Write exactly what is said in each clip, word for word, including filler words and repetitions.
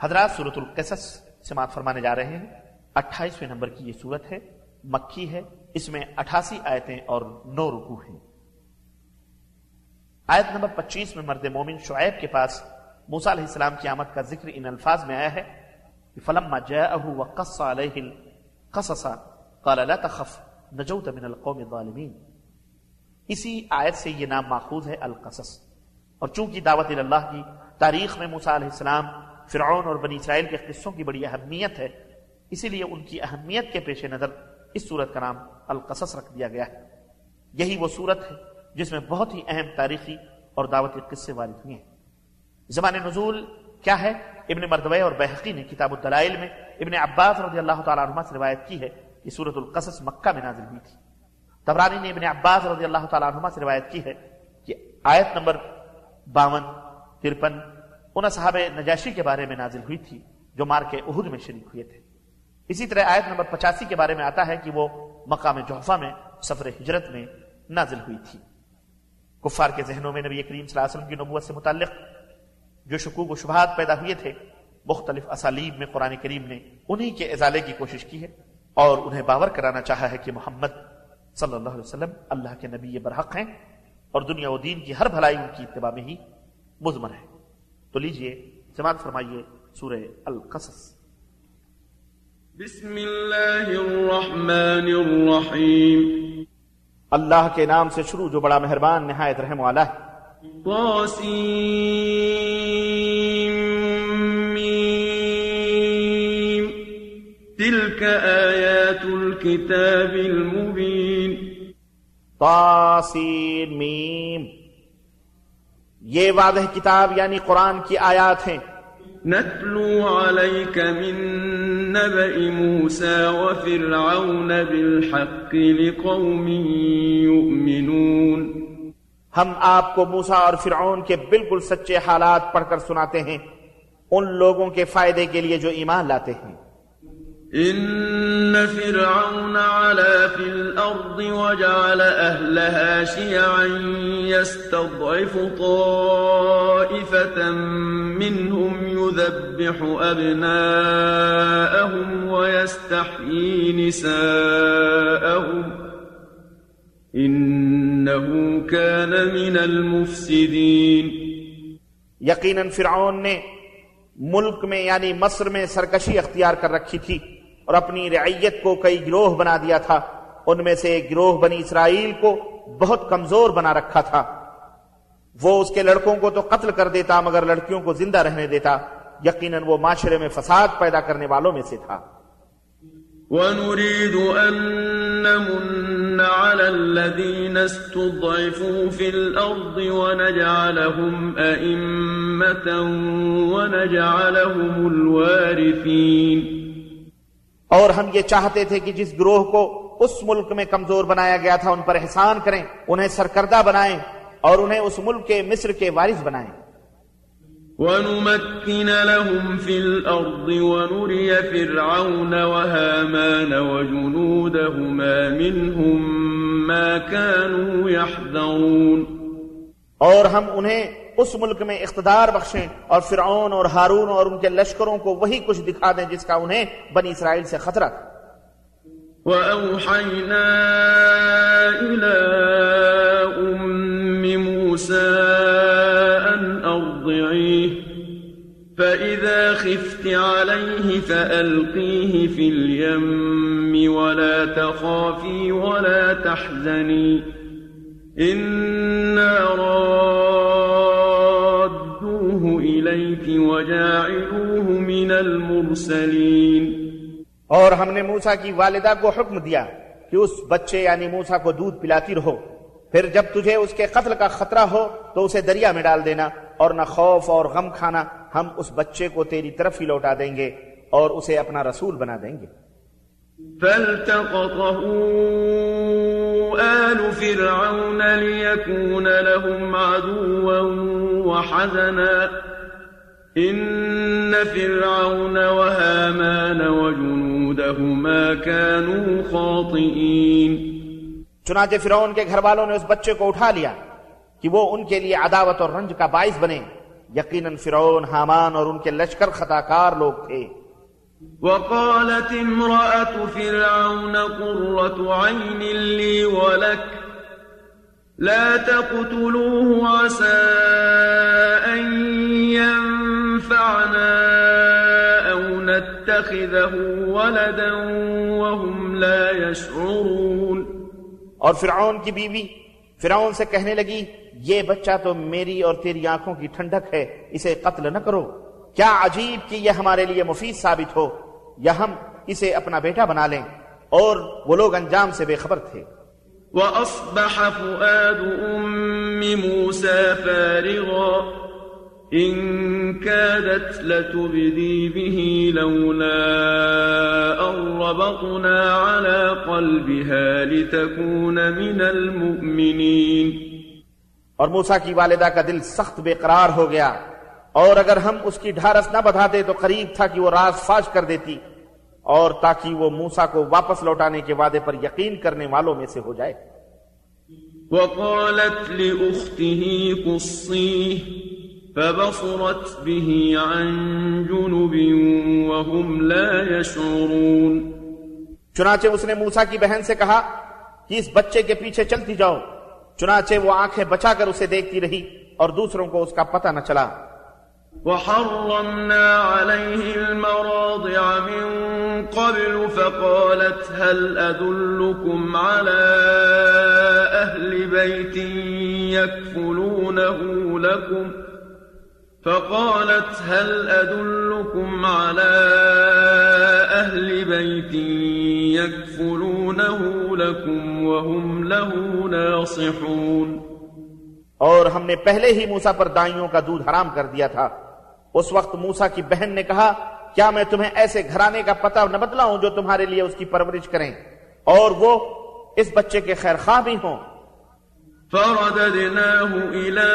حضرات سورۃ القصص سماعت فرمانے جا رہے ہیں. اٹھائیسویں نمبر کی یہ سورت ہے، مکی ہے. اس میں اٹھاسی آیتیں اور نو رکوع ہیں. آیت نمبر پچیس میں مرد مومن شعیب کے پاس موسیٰ علیہ السلام کی آمد کا ذکر ان الفاظ میں آیا ہے کہ فلما جاءه وقص عليه القصص قال لا تخف نجوت من القوم الظالمین. اسی آیت سے یہ نام ماخوذ ہے القصص. اور چونکہ دعوت اللہ کی تاریخ میں موسیٰ علیہ السلام، فرعون اور بنی اسرائیل کے قصوں کی بڑی اہمیت ہے، اسی لیے ان کی اہمیت کے پیش نظر اس سورت کا نام القصص رکھ دیا گیا ہے. یہی وہ سورت ہے جس میں بہت ہی اہم تاریخی اور دعوتی قصے وارد ہوئے ہیں. زمان نزول کیا ہے؟ ابن مردویہ اور بہقی نے کتاب الدلائل میں ابن عباس رضی اللہ تعالیٰ عنہ سے روایت کی ہے کہ سورۃ القصص مکہ میں نازل ہوئی تھی. طبرانی نے ابن عباس رضی اللہ تعالیٰ عنہ سے روایت کی ہے کہ آیت نمبر باون ترپن ان صحابہ نجاشی کے بارے میں نازل ہوئی تھی جو مارکے احد میں شریک ہوئے تھے. اسی طرح آیت نمبر پچاسی کے بارے میں آتا ہے کہ وہ مقام جحفہ میں سفر ہجرت میں نازل ہوئی تھی. کفار کے ذہنوں میں نبی کریم صلی اللہ علیہ وسلم کی نبوت سے متعلق جو شکوک و شبہات پیدا ہوئے تھے، مختلف اسالیب میں قرآن کریم نے انہی کے ازالے کی کوشش کی ہے اور انہیں باور کرانا چاہا ہے کہ محمد صلی اللہ علیہ وسلم اللہ کے نبی برحق ہیں اور دنیا و دین کی ہر بھلائی ان کی اتباع میں ہی مضمر ہے. تو لیجئے سماعت فرمائیے سورہ القصص. بسم اللہ الرحمن الرحیم. اللہ کے نام سے شروع جو بڑا مہربان نہایت رحم والا ہے. طاسیم میم تلک آیات الکتاب المبین. طاسین میم، یہ واضح کتاب یعنی قرآن کی آیات ہیں. نتلو علیک من نبأ موسیٰ وفرعون بالحق لقوم یؤمنون. ہم آپ کو موسیٰ اور فرعون کے بالکل سچے حالات پڑھ کر سناتے ہیں ان لوگوں کے فائدے کے لیے جو ایمان لاتے ہیں. ان فرعون علا فی الارض وجعل اہلها شیعا یستضعف طائفة منهم یذبح ابناءهم ویستحیی نساءهم انہو کان من المفسدین. یقیناً فرعون نے ملک میں یعنی مصر میں سرکشی اختیار کر رکھی تھی اور اپنی رعیت کو کئی گروہ بنا دیا تھا. ان میں سے ایک گروہ بنی اسرائیل کو بہت کمزور بنا رکھا تھا. وہ اس کے لڑکوں کو تو قتل کر دیتا مگر لڑکیوں کو زندہ رہنے دیتا. یقیناً وہ معاشرے میں فساد پیدا کرنے والوں میں سے تھا. وَنُرِيدُ أَن نَّمُنَّ عَلَى الَّذِينَ اسْتُضْعِفُوا فِي الْأَرْضِ وَنَجْعَلَهُمْ أَئِمَّةً وَنَجْعَلَهُمُ الْوَارِثِينَ. اور ہم یہ چاہتے تھے کہ جس گروہ کو اس ملک میں کمزور بنایا گیا تھا ان پر احسان کریں، انہیں سرکردہ بنائیں اور انہیں اس ملک کے مصر کے وارث بنائیں. وَنُمَكِّنَ لَهُمْ فِي الْأَرْضِ وَنُرِيَ فِرْعَوْنَ وَهَامَانَ وَجُنُودَهُمَا مِنْهُمْ مَا كَانُوا يَحْذَرُونَ. اور ہم انہیں اس ملک میں اقتدار بخشیں اور فرعون اور ہارون اور ان کے لشکروں کو وہی کچھ دکھا دیں جس کا انہیں بنی اسرائیل سے خطرہ تھا. وَأَوْحَيْنَا إِلَىٰ أُمِّ مُوسَىٰ أَنْ أَرْضِعِيهِ فَإِذَا خِفْتِ عَلَيْهِ فَأَلْقِيهِ فِي الْيَمِّ وَلَا تَخَافِي وَلَا تَحْزَنِي إِنَّا رَادُّوهُ إِلَيْكِ وَجَاعِلُوهُ مِنَ الْمُرْسَلِينَ. اور ہم نے موسیٰ کی والدہ کو حکم دیا کہ اس بچے یعنی موسیٰ کو دودھ پلاتی رہو، پھر جب تجھے اس کے قتل کا خطرہ ہو تو اسے دریا میں ڈال دینا اور نہ خوف اور غم کھانا، ہم اس بچے کو تیری طرف ہی لوٹا دیں گے اور اسے اپنا رسول بنا دیں گے. فَالْتَقَطَهُ آلُ فِرْعَوْنَ لِيَكُونَ لَهُمْ عَدُوًّا وَحَزَنًا إِنَّ فِرْعَوْنَ وَهَامَانَ وَجُنُودَهُمَا كَانُوا خَاطِئِينَ. چنانچہ فرعون کے گھر والوں نے اس بچے کو اٹھا لیا کہ وہ ان کے لیے عداوت اور رنج کا باعث بنے یقیناً فرعون، حامان اور ان کے لشکر خطاکار لوگ تھے۔ وقالت امرأة فرعون قرة عين لي ولك لا تقتلوه عسى أن ينفعنا أو نتخذه ولدا وهم لا يشعرون۔ اور فرعون کی بیوی فرعون سے کہنے لگی یہ بچہ تو میری اور تیری آنکھوں کی ٹھنڈک ہے، اسے قتل نہ کرو، کیا عجیب کہ یہ ہمارے لیے مفید ثابت ہو یا ہم اسے اپنا بیٹا بنا لیں۔ اور وہ لوگ انجام سے بے خبر تھے۔ وَأَصْبَحَ فُؤَادُ أُمِّ مُوسَى فَارِغًا إِن كَادَتْ لَتُبْدِي بِهِ لَوْلَا أَن رَّبَطْنَا عَلَىٰ قَلْبِهَا لِتَكُونَ مِنَ الْمُؤْمِنِينَ۔ اور موسیٰ کی والدہ کا دل سخت بے قرار ہو گیا، اور اگر ہم اس کی ڈھارس نہ بڑھاتے تو قریب تھا کہ وہ راز فاش کر دیتی، اور تاکہ وہ موسیٰ کو واپس لوٹانے کے وعدے پر یقین کرنے والوں میں سے ہو جائے۔ وقالت لأخته قصيه فبصرت به عن جنب وهم لا يشعرون۔ چنانچہ اس نے موسیٰ کی بہن سے کہا کہ اس بچے کے پیچھے چلتی جاؤ، چنانچہ وہ آنکھیں بچا کر اسے دیکھتی رہی اور دوسروں کو اس کا پتہ نہ چلا۔ وحرمنا عليه المراضع من قبل فقالت هل أدلكم على أهل بيت يكفلونه لكم فقالت هل أدلكم على أهل بيت يكفلونه لكم وهم له ناصحون۔ اور ہم نے پہلے ہی موسیٰ پر دائیوں کا دودھ حرام کر دیا تھا۔ اس وقت موسیٰ کی بہن نے کہا کیا میں تمہیں ایسے گھرانے کا پتہ نہ بتلاؤں جو تمہارے لیے اس کی پرورش کریں اور وہ اس بچے کے خیر خواہ بھی ہوں۔ فرددناه إلى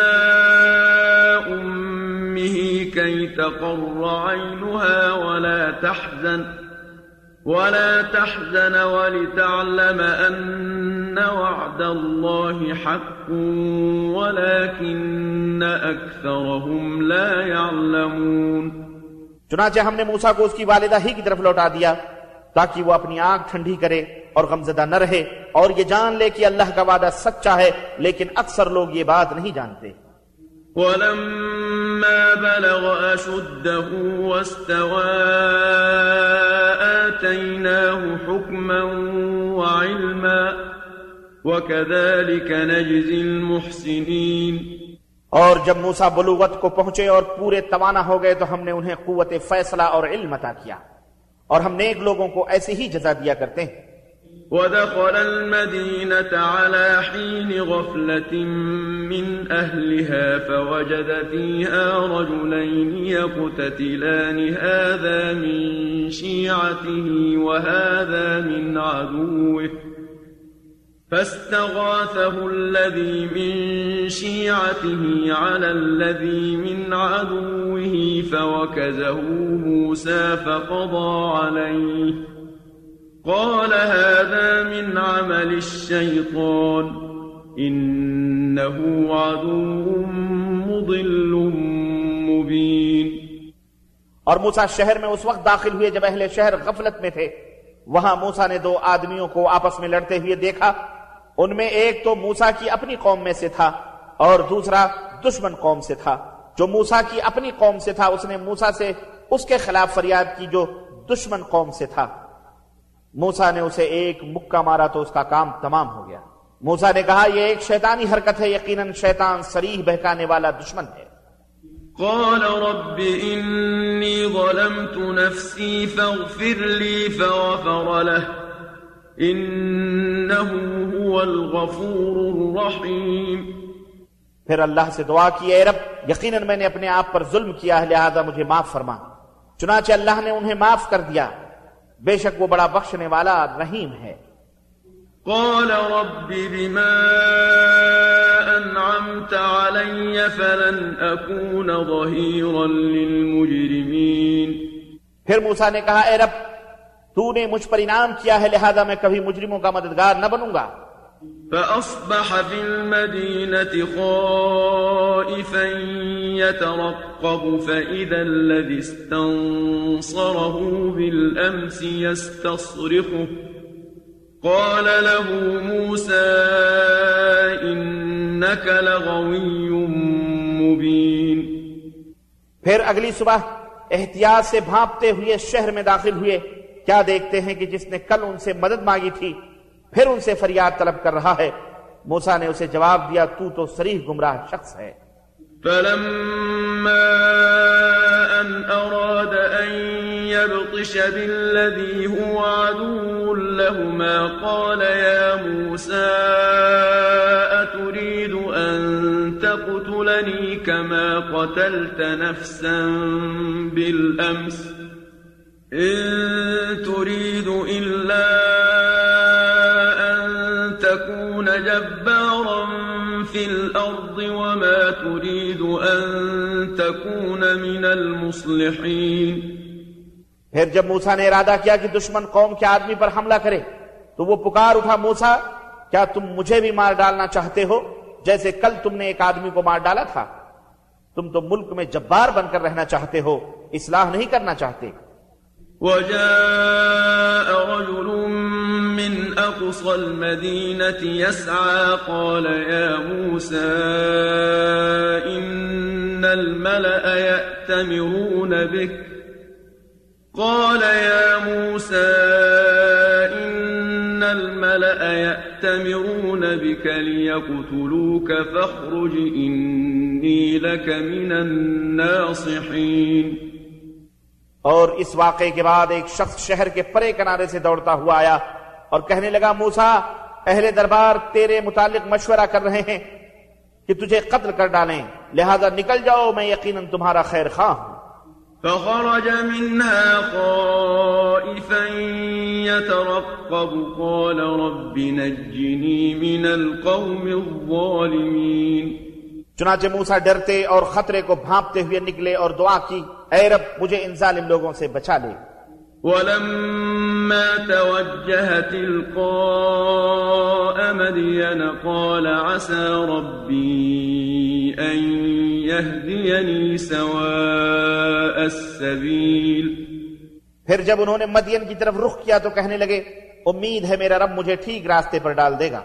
أمه كي تقر عينها ولا تحزن ولا تحزن ولتعلم أن وعد الله حق ولكن أكثرهم لا يعلمون۔ چنانچہ ہم نے موسیٰ کو اس کی والدہ ہی کی طرف لوٹا دیا تاکہ وہ اپنی آنکھ ٹھنڈی کرے اور غمزدہ نہ رہے اور یہ جان لے کہ اللہ کا وعدہ سچا ہے، لیکن اکثر لوگ یہ بات نہیں جانتے۔ وَلَمَّا بَلَغَ أَشُدَّهُ وَاسْتَوَىٰ آتَيْنَاهُ حُكْمًا وَعِلْمًا وَكَذَلِكَ نَجْزِي الْمُحْسِنِينَ۔ اور جب موسیٰ بلوغت کو پہنچے اور پورے توانا ہو گئے تو ہم نے انہیں قوت فیصلہ اور علم عطا کیا، اور ہم نیک لوگوں کو ایسی ہی جزا دیا کرتے ہیں۔ ودخل المدينة على حين غفلة من أهلها فوجد فيها رجلين يقتتلان هذا من شيعته وهذا من عدوه فاستغاثه الذي من شيعته على الذي من عدوه فوكزه موسى فقضى عليه قال هذا من عمل الشيطان إنه عدو مضل مبين۔ اور موسیٰ شہر میں اس وقت داخل ہوئے جب اہل شہر غفلت میں تھے۔ وہاں موسیٰ نے دو آدمیوں کو آپس میں لڑتے ہوئے دیکھا، ان میں ایک تو موسیٰ کی اپنی قوم میں سے تھا اور دوسرا دشمن قوم سے تھا۔ جو موسیٰ کی اپنی قوم سے تھا اس نے موسیٰ سے اس کے خلاف فریاد کی جو دشمن قوم سے تھا۔ موسیٰ نے اسے ایک مکہ مارا تو اس کا کام تمام ہو گیا۔ موسیٰ نے کہا یہ ایک شیطانی حرکت ہے، یقیناً شیطان صریح بہکانے والا دشمن ہے۔ قال رب إني ظلمت نفسي فاغفر لي فغفر له إنه هو الغفور الرحيم۔ پھر اللہ سے دعا کی اے رب یقیناً میں نے اپنے آپ پر ظلم کیا ہے لہذا مجھے معاف فرما۔ چنانچہ اللہ نے انہیں معاف کر دیا، بے شک وہ بڑا بخشنے والا رحیم ہے۔ قال رب بما أنعمت علي فلن أكون ظهيرا للمجرمين۔ پھر موسیٰ نے کہا اے رب تو نے مجھ پر انعام کیا ہے لہذا میں کبھی مجرموں کا مددگار نہ بنوں گا۔ فأصبح في المدينة خائفا يترقب فإذا الذي استنصره بالأمس يستصرخه قال له موسى إنك لغوي مبين. پھر اگلی صبح احتیاط سے بھانپتے ہوئے شہر میں داخل ہوئے، کیا دیکھتے ہیں کہ جس نے کل ان سے مدد مانگی تھی پھر ان سے فریاد طلب کر رہا ہے۔ موسیٰ نے اسے جواب دیا، تو تو صریح گمراہ شخص ہے۔ فلما أن أراد أن يبطش بالذي هو عدو لهما قال يا موسى أتريد أن تقتلني كما قتلت نفسا بالأمس إن تريد إلا أن تكون جبارا في الأرض وما تريد أن تكون من المصلحين. پھر جب موسیٰ نے ارادہ کیا کہ دشمن قوم کے آدمی پر حملہ کرے تو وہ پکار اٹھا، موسیٰ کیا تم مجھے بھی مار ڈالنا چاہتے ہو جیسے کل تم نے ایک آدمی کو مار ڈالا تھا؟ تم تو ملک میں جبار بن کر رہنا چاہتے ہو، اصلاح نہیں کرنا چاہتے۔ وجاء رجل من أقصى المدينة يسعى قال يا موسى إن الملأ يأتمرون بك قال يا موسى إن الملأ يأتمرون بك ليقتلوك فاخرج إني لك من الناصحين. اور اس واقعے کے بعد ایک شخص شہر کے پرے کنارے سے دوڑتا ہوا آیا اور کہنے لگا، موسیٰ اہل دربار تیرے متعلق مشورہ کر رہے ہیں کہ تجھے قتل کر ڈالیں، لہذا نکل جاؤ، میں یقیناً تمہارا خیر خواہ ہوں۔ فخرج منها خائفا يترقب قال رب نجني من القوم الظالمين. چنانچہ موسیٰ ڈرتے اور خطرے کو بھانپتے ہوئے نکلے اور دعا کی، اے رب مجھے ان ظالم لوگوں سے بچا لے۔ ولما توجه تلقاء مدين قال عسى ربي أن يهديني سواء السبيل. پھر جب انہوں نے مدین کی طرف رخ کیا تو کہنے لگے، امید ہے میرا رب مجھے ٹھیک راستے پر ڈال دے گا۔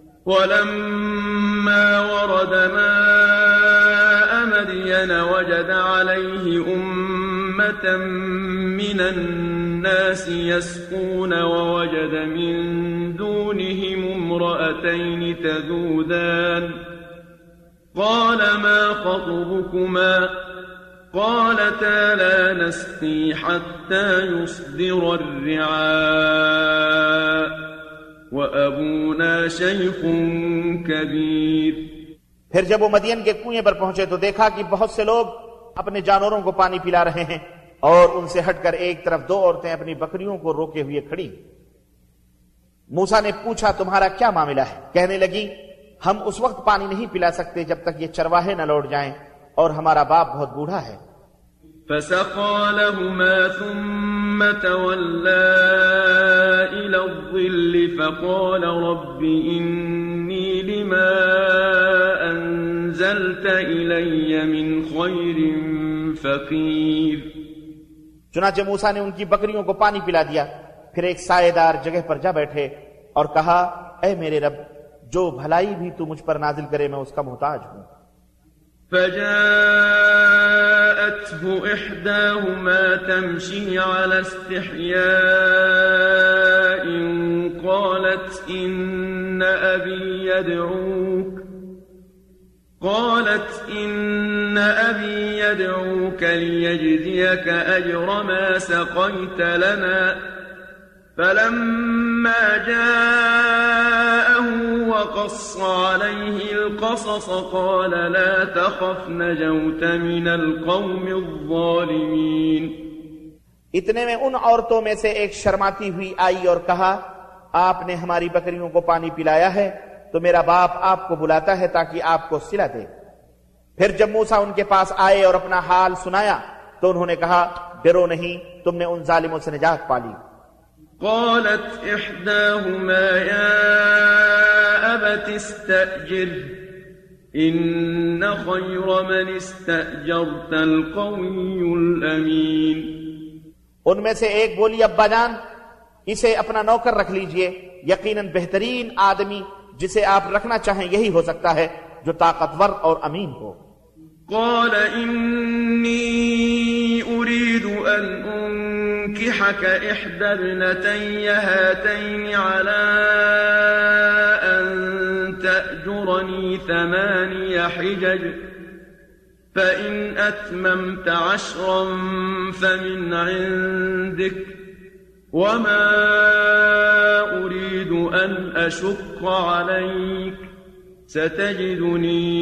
ولما ورد ماء مدين وجد عليه أمة من الناس يسقون ووجد من دونهم امرأتين تذودان قال ما خطبكما قالتا لا نسقي حتى يصدر الرعاء وأبونا شيخ كبير. پھر جب وہ مدین کے کنویں پر پہنچے تو دیکھا کہ بہت سے لوگ اپنے جانوروں کو پانی پلا رہے ہیں اور ان سے ہٹ کر ایک طرف دو عورتیں اپنی بکریوں کو روکے ہوئے کھڑی۔ موسیٰ نے پوچھا، تمہارا کیا معاملہ ہے؟ کہنے لگی، ہم اس وقت پانی نہیں پلا سکتے جب تک یہ چرواہے نہ لوٹ جائیں اور ہمارا باپ بہت بوڑھا ہے۔ فسقى لهما ثم تولى إلى الظل فقال رب إني لما أنزلت إلي من خير فقير. چنانچہ موسیٰ نے ان کی بکریوں کو پانی پلا دیا، پھر ایک سائے دار جگہ پر جا بیٹھے اور کہا، اے میرے رب جو بھلائی بھی تو مجھ پر نازل کرے میں اس کا محتاج ہوں۔ فجاءته إحداهما تمشي على استحياء قالت إن أبي يدعوك قالت إن أبي يدعوك ليجزيك أجر ما سقيت لنا فلما جاءه وقص عليه القصص قال لا تخف نجوت من القوم الظالمين. اتنے میں ان عورتوں میں سے ایک شرماتی ہوئی آئی اور کہا، آپ نے ہماری بکریوں کو پانی پلایا ہے تو میرا باپ آپ کو بلاتا ہے تاکہ آپ کو صلہ دے۔ پھر جب موسیٰ ان کے پاس آئے اور اپنا حال سنایا تو انہوں نے کہا، ڈرو نہیں، تم نے ان ظالموں سے نجات پا لی۔ قالت إحداهما يا أبت استأجره إن خير من استأجرت القوي الأمين. ان میں سے ایک بولی ابا جان اسے اپنا نوکر رکھ لیجئے، یقیناً بہترین آدمی جسے آپ رکھنا چاہیں یہی ہو سکتا ہے جو طاقتور اور امین ہو. قال إني أريد أن أنكحك إحدى ابنتي هاتين على أن تأجرني ثماني حجج فإن أتممت عشرا فمن عندك وما أريد أن أشق عليك ستجدني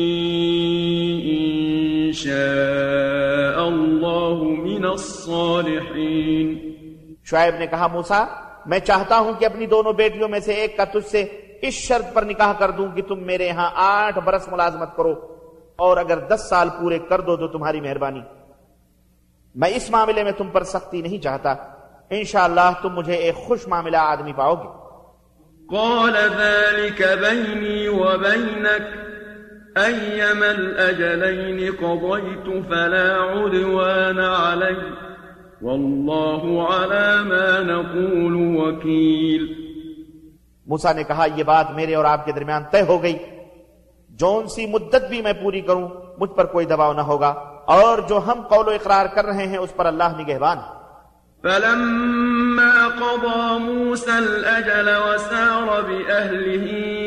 إن شاء الله من الصالحين. شعیب نے کہا موسیٰ میں چاہتا ہوں کہ اپنی دونوں بیٹیوں میں سے ایک کا تجھ سے اس شرط پر نکاح کر دوں کہ تم میرے ہاں آٹھ برس ملازمت کرو اور اگر دس سال پورے کر دو تو تمہاری مہربانی. میں اس معاملے میں تم پر سختی نہیں چاہتا، انشاءاللہ تم مجھے ایک خوش معاملہ آدمی پاؤ گے. قال ذلك بيني وبينك أيما الأجلين قضيت فلا عدوان علي والله على ما نقول وكيل. موسیٰ نے کہا یہ بات میرے اور آپ کے درمیان طے ہو گئی، جون سی مدت بھی میں پوری کروں مجھ پر کوئی دباؤ نہ ہوگا، اور جو ہم قول و اقرار کر رہے ہیں اس پر اللہ نگہبان. فلما قضى موسى الأجل وسار بأهله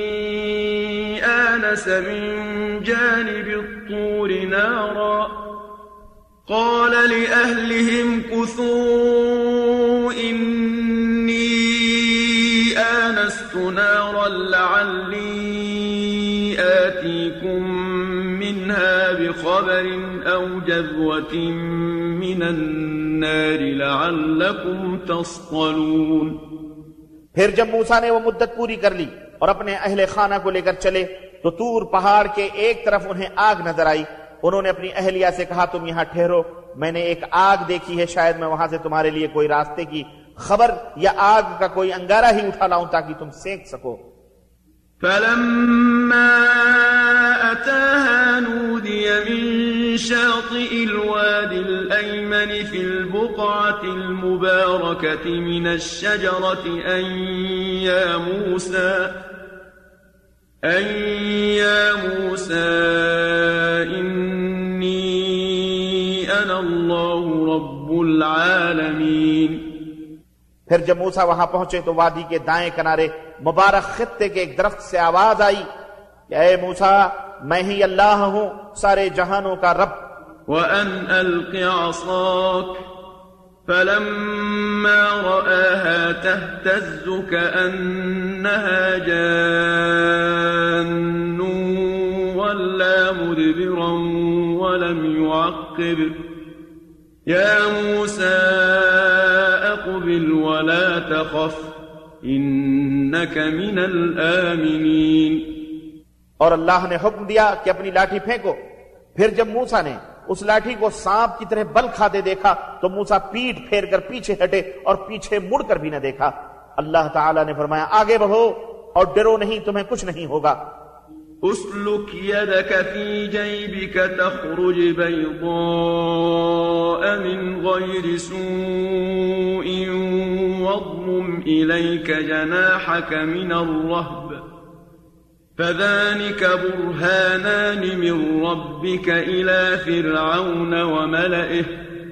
آنس من جانب الطور نارا قال لأهلهم كثوا إني آنست نارا لعلي آتيكم منها بخبر أو جذوة من النار لعلكم تصطلون. پھر جب موسیٰ نے وہ مدت پوری کر لی اور اپنے اہل خانہ کو لے کر چلے تو طور پہاڑ کے ایک طرف انہیں آگ نظر آئی. انہوں نے اپنی اہلیہ سے کہا تم یہاں ٹھہرو، میں نے ایک آگ دیکھی ہے، شاید میں وہاں سے تمہارے لیے کوئی راستے کی خبر یا آگ کا کوئی انگارہ ہی اٹھا لاؤں تاکہ تم سینک سکو. فلما أتاها نودي من شاطئ الوادي الأيمن في البقعة المباركة من الشجرة أن يا موسى أن يا موسى إني أنا الله رب العالمين. پھر جب موسیٰ وہاں پہنچے تو وادی کے دائیں کنارے مبارک خطے کے ایک درخت سے آواز آئی کہ اے موسیٰ میں ہی اللہ ہوں سارے جہانوں کا رب. وَأَنْ أَلْقِ عَصَاكَ فَلَمَّا رَآهَا تَهْتَزُّ كَأَنَّهَا جَانٌّ وَلَّى مُدْبِرًا وَلَمْ يُعَقِّبْ يَا مُوسَى أَقْبِلْ وَلَا تَخَفْ إِنَّكَ مِنَ الْآمِنِينَ. اور اللہ نے حکم دیا کہ اپنی لاٹھی پھینکو. پھر جب موسیٰ نے اس لاٹھی کو سانپ کی طرح بل کھاتے دیکھا تو موسیٰ پیٹ پھیر کر پیچھے ہٹے اور پیچھے مڑ کر بھی نہ دیکھا. اللہ تعالیٰ نے فرمایا آگے بڑھو اور ڈرو نہیں، تمہیں کچھ نہیں ہوگا. اسلك يدك في جيبك تخرج بيضاء من غير سوء واضمم إليك جناحك من الرهب فذلك برهانان من ربك إلى فرعون وملئه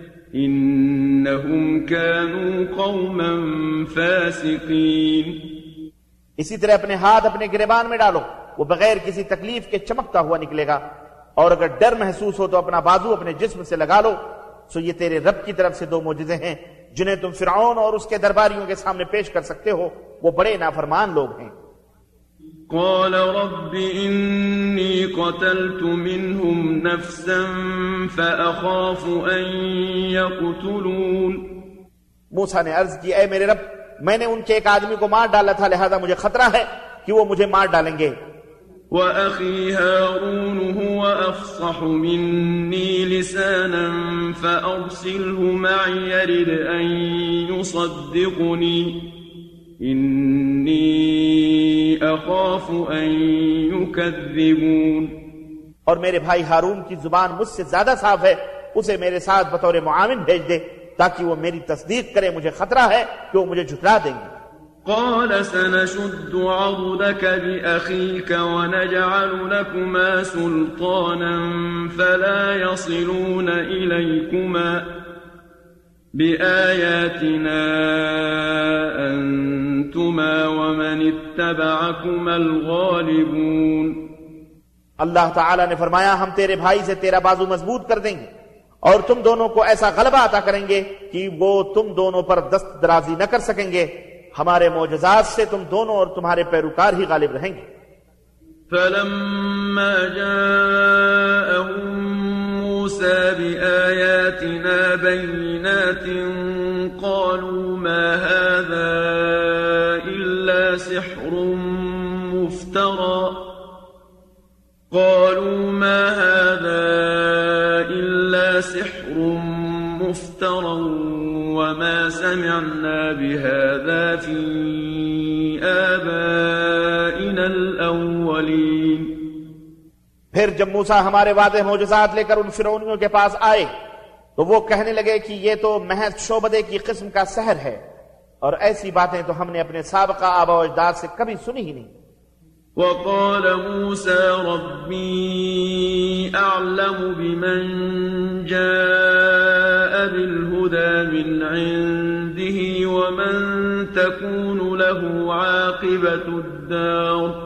إنهم كانوا قوما فاسقين. اسی طرح اپنے ہاتھ اپنے گریبان میں ڈالو، وہ بغیر کسی تکلیف کے چمکتا ہوا نکلے گا، اور اگر ڈر محسوس ہو تو اپنا بازو اپنے جسم سے لگا لو. سو یہ تیرے رب کی طرف سے دو معجزے ہیں جنہیں تم فرعون اور اس کے درباریوں کے سامنے پیش کر سکتے ہو، وہ بڑے نافرمان لوگ ہیں. قال رب إني قتلت منهم نفسا فأخاف أن يقتلون. موسیٰ نے عرض کی اے میرے رب میں نے ان کے ایک آدمی کو مار ڈالا تھا، لہذا مجھے خطرہ ہے کہ وہ مجھے مار ڈالیں گے. وأخي هارون هو أفصح مني لسانا فأرسله معي يرد أن يصدقني إني أخاف أن يكذبون اور میرے بھائی ہارون کی زبان مجھ سے زیادہ صاف ہے، اسے میرے ساتھ بطور معاون بھیج دے تاکہ وہ میری تصدیق کرے، مجھے خطرہ ہے کہ وہ مجھے جھٹلا دیں گے۔ قال سنشد عضدك بأخيك ونجعل لكما سلطانا فلا يصلون إليكما بآياتنا أنتما ومن اتبعكما الغالبون۔ اللہ تعالیٰ نے فرمایا ہم تیرے بھائی سے تیرا بازو مضبوط کر دیں گے اور تم دونوں کو ایسا غلبہ عطا کریں گے کہ وہ تم دونوں پر دست درازی نہ کر سکیں گے، ہمارے معجزات سے تم دونوں اور تمہارے پیروکار ہی غالب رہیں گے۔ فلما جاءهم موسى بآياتنا بينات قالوا ما هذا إلا سحر مفترى قالوا ما هذا إلا سحر مفترى وما سمعنا بهذا في آبائنا الأولين۔ پھر جب موسیٰ ہمارے واضح معجزات لے کر ان فرعونیوں کے پاس آئے تو وہ کہنے لگے کہ یہ تو محض شعبدے کی قسم کا سحر ہے، اور ایسی باتیں تو ہم نے اپنے سابقہ آباء و اجداد سے کبھی سنی ہی نہیں۔ وقال موسى ربي أعلم بمن جاء بالهدى من عنده ومن تكون له عاقبة الدار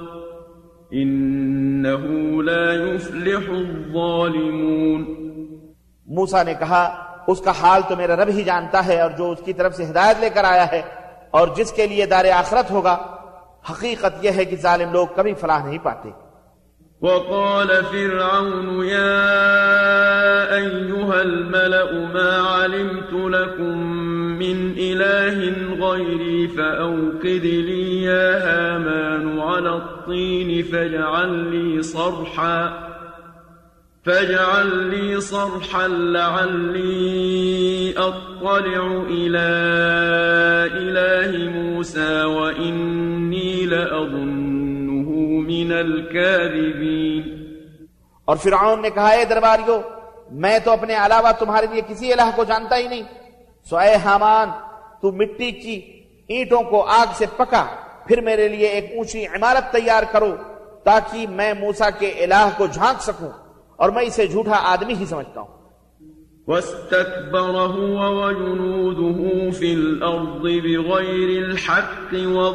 إنه لا يفلح الظالمون۔ موسیٰ نے کہا اس کا حال تو میرا رب ہی جانتا ہے، اور جو اس کی طرف سے ہدایت لے کر آیا ہے اور جس کے لیے دار آخرت ہوگا، حقیقت یہ ہے کہ ظالم لوگ کبھی فلاح نہیں پاتے۔ وقال فرعون يا أيها الملأ ما علمت لكم من إله غيري فأوقد لي يا هامان على الطين فاجعل لي صرحا فاجعل لي صرحا لعلي أطلع إلى إله موسى وإني لأظنه من الكاذبين۔ اور فرعون نے کہا اے درباریو، میں تو اپنے علاوہ تمہارے لیے کسی الہ کو جانتا ہی نہیں، سو اے حامان تو مٹی کی اینٹوں کو آگ سے پکا، پھر میرے لیے ایک اونچی عمارت تیار کرو تاکہ میں موسیٰ کے الہ کو جھانک سکوں، اور میں اسے جھوٹا آدمی ہی سمجھتا ہوں۔ واستكبر هو وجنوده في الأرض بغير الحق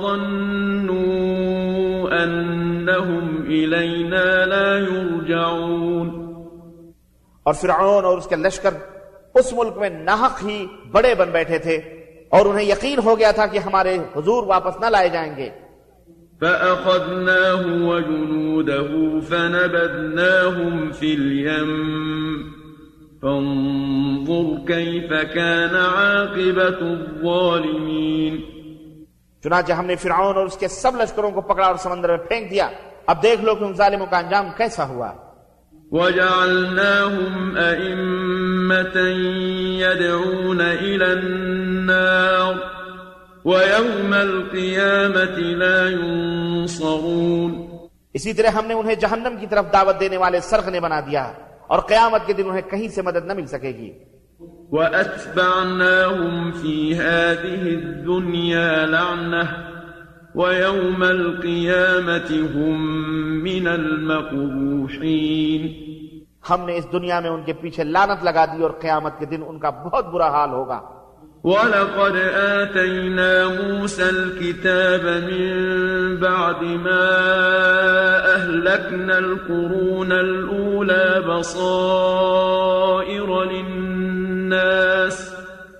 وظنوا أنهم إلينا لا يرجعون۔ اور فرعون اور اس کے لشکر اس ملک میں ناحق ہی بڑے بن بیٹھے تھے اور انہیں یقین ہو گیا تھا کہ ہمارے حضور واپس نہ لائے جائیں گے۔ فأخذناه وجنوده فنبذناهم في اليم فانظر كيف كان عاقبة الظالمين۔ چنانچہ ہم نے فرعون اور اس کے سب لشکروں کو پکڑا اور سمندر میں پھینک دیا، اب دیکھ لو کہ ان ظالموں کا انجام کیسا ہوا۔ وجعلناهم أئمة يدعون إلى النار وَيَوْمَ الْقِيَامَةِ لَا يُنصَرُونَ۔ اسی طرح ہم نے انہیں جہنم کی طرف دعوت دینے والے سرغنے بنا دیا، اور قیامت کے دن انہیں کہیں سے مدد نہ مل سکے گی۔ وَأَتْبَعْنَاهُمْ فِي هَذِهِ الدُّنْيَا لَعْنَةً وَيَوْمَ الْقِيَامَةِ هُمْ مِنَ الْمَقْبُوحِينَ۔ ہم نے اس دنیا میں ان کے پیچھے لعنت لگا دی اور قیامت کے دن ان کا بہت برا حال ہوگا۔ وَلَقَدْ آتَيْنَا مُوسَى الْكِتَابَ مِنْ بَعْدِ مَا أَهْلَكْنَا الْقُرُونَ الْأُولَى بَصَائِرَ لِلنَّاسِ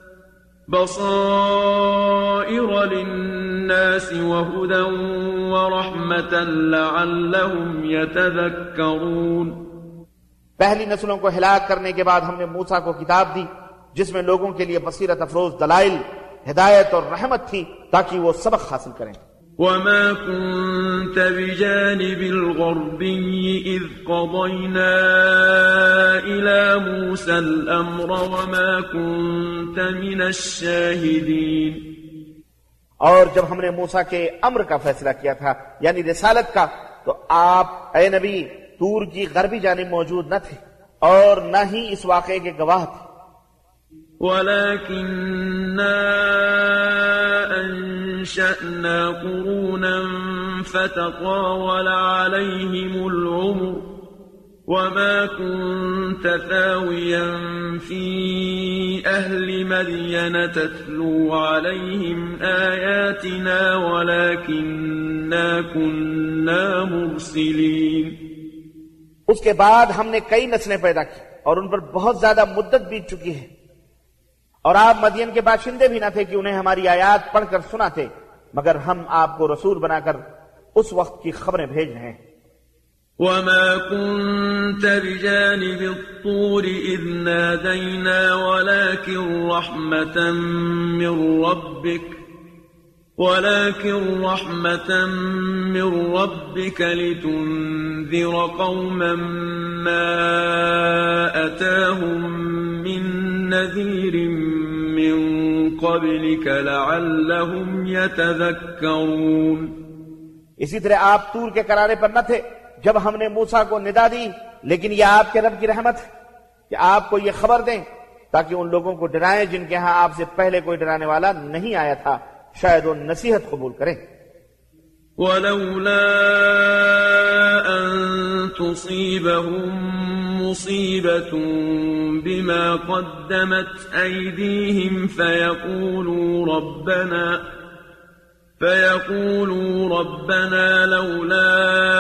بَصَائِرَ لِلنَّاسِ وَهُدًى وَرَحْمَةً لَعَلَّهُمْ يَتَذَكَّرُونَ۔ پہلی نسلوں کو ہلاک کرنے کے بعد ہم نے موسیٰ کو کتاب دی جس میں لوگوں کے لیے بصیرت افروز دلائل، ہدایت اور رحمت تھی تاکہ وہ سبق حاصل کریں۔ وَمَا كُنْتَ بِجَانِبِ الْغَرْبِيِّ إِذْ قَضَيْنَا إِلَى مُوسَى الْأَمْرَ وَمَا كُنْتَ مِنَ الشَّاهِدِينَ۔ اور جب ہم نے موسیٰ کے امر کا فیصلہ کیا تھا یعنی رسالت کا تو آپ اے نبی طور کی غربی جانب موجود نہ تھے اور نہ ہی اس واقعے کے گواہ تھے. ولكننا أنشأنا قرونا فتطاول عليهم العمر وما كنت ثاويا في أهل مدين تتلو عليهم آياتنا ولكننا كنا مرسلين. اس کے بعد ہم نے کئی نسلیں پیدا کی اور ان پر بہت زیادہ مدت بیت چکی ہے اور آپ مدین کے باشندے بھی نہ تھے کہ انہیں ہماری آیات پڑھ کر سناتے مگر ہم آپ کو رسول بنا کر اس وقت کی خبریں بھیج رہے ہیں. وما كنت بجانب الطور إذ نادينا ولكن رحمة من ربك ولكن رحمة من ربك لتنذر قوما ما أتاهم من نذير من قبلك لعلهم يتذكرون. اسی طرح آپ طور کے کنارے پر نہ تھے جب ہم نے موسیٰ کو ندا دی لیکن یہ آپ کے رب کی رحمت ہے کہ آپ کو یہ خبر دیں تاکہ ان لوگوں کو ڈرائیں جن کے ہاں آپ سے پہلے کوئی ڈرانے والا نہیں آیا تھا شاید وہ نصیحت قبول کریں. ولولا أن تصيبهم مصيبة بما قدمت أيديهم فيقولوا ربنا فيقولوا ربنا لولا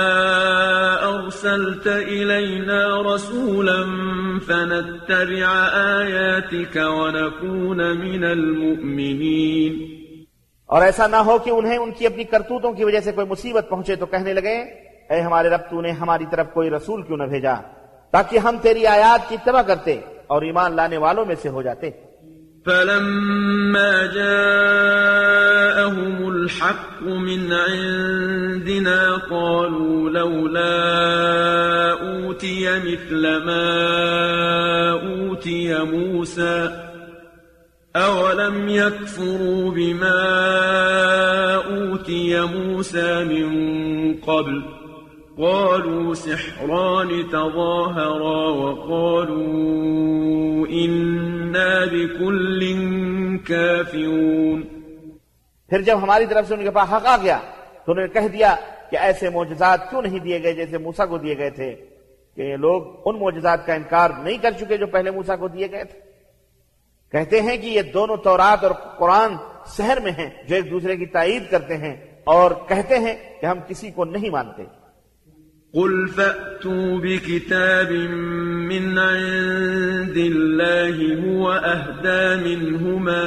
أرسلت إلينا رسولا فنتبع آياتك ونكون من المؤمنين. اور ایسا نہ ہو کہ انہیں ان کی اپنی کرتوتوں کی وجہ سے کوئی مصیبت پہنچے تو کہنے لگے اے ہمارے رب تو نے ہماری طرف کوئی رسول کیوں نہ بھیجا تاکہ ہم تیری آیات کی اتباع کرتے اور ایمان لانے والوں میں سے ہو جاتے. فلما جاءهم الحق من عندنا قالوا لولا أوتي مثل ما أوتي موسى أولم يكفروا بما أوتي موسى من قبل قالوا سحران تظاهرا وقالوا إنا بكل كافرون. پھر جب ہماری طرف سے ان کے پاس حق آ گیا تو انہوں نے کہہ دیا کہ ایسے معجزات کیوں نہیں دیے گئے جیسے موسیٰ کو دیے گئے تھے کہ یہ لوگ ان معجزات کا انکار نہیں کر چکے جو پہلے موسیٰ کو دیے گئے تھے. کہتے ہیں کہ یہ دونوں تورات اور قرآن سحر میں ہیں جو ایک دوسرے کی تائید کرتے ہیں اور کہتے ہیں کہ ہم کسی کو نہیں مانتے. قل فأتوا بكتاب من عند الله هو أهدى منهما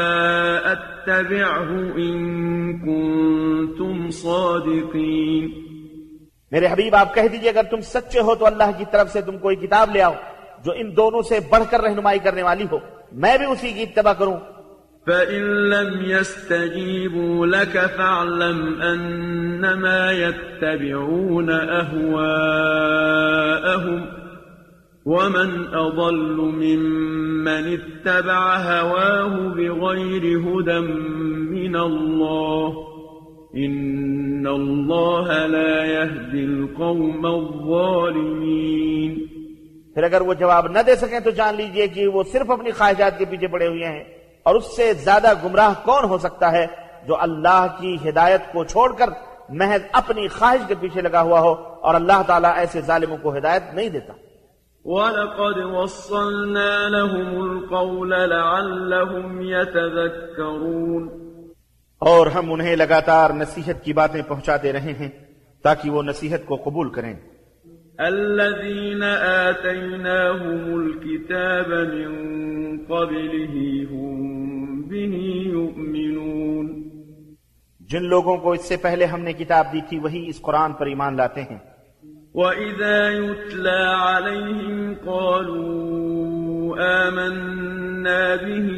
أتبعه إن كنتم صادقين. میرے حبیب آپ کہہ دیجئے اگر تم سچے ہو تو اللہ کی طرف سے تم کوئی کتاب لے آؤ جو ان دونوں سے بڑھ کر رہنمائی کرنے والی ہو میں بھی اسی کی اتباع کروں. فَإِن لَّمْ يَسْتَجِيبُوا لَكَ فَاعْلَمْ أَنَّمَا يَتَّبِعُونَ أَهْوَاءَهُمْ وَمَنْ أَضَلُّ مِمَّنِ اتَّبَعَ هَوَاهُ بِغَيْرِ هُدًى مِّنَ اللَّهِ إِنَّ اللَّهَ لَا يَهْدِي الْقَوْمَ الظَّالِمِينَ. پھر اگر وہ جواب نہ دے سکیں تو جان لیجئے کہ وہ صرف اپنی خواہشات کے پیچھے پڑے ہوئے ہیں اور اس سے زیادہ گمراہ کون ہو سکتا ہے جو اللہ کی ہدایت کو چھوڑ کر محض اپنی خواہش کے پیچھے لگا ہوا ہو اور اللہ تعالیٰ ایسے ظالموں کو ہدایت نہیں دیتا. وَلَقَدْ وَصَّلْنَا لَهُمُ الْقَوْلَ لَعَلَّهُمْ يَتَذَكَّرُونَ. اور ہم انہیں لگاتار نصیحت کی باتیں پہنچاتے رہے ہیں تاکہ وہ نصیحت کو قبول کریں. الذين آتيناهم الكتاب من قبله هم به يؤمنون. جن لوگوں کو اس سے پہلے ہم نے کتاب دی تھی وہی اس قرآن پر ایمان لاتے ہیں. وَإِذَا يُتْلَى عَلَيْهِمْ قَالُوا آمَنَّا بِهِ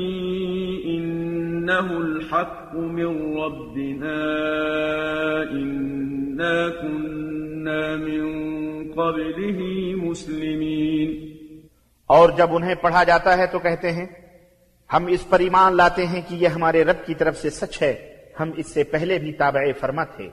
إِنَّهُ الْحَقُّ مِنْ رَبِّنَا إِنَّا كُنَّا مِنْ قبله مسلمین. اور جب انہیں پڑھا جاتا ہے تو کہتے ہیں ہم اس پر ایمان لاتے ہیں کہ یہ ہمارے رب کی طرف سے سچ ہے، ہم اس سے پہلے بھی تابع فرما تھے۔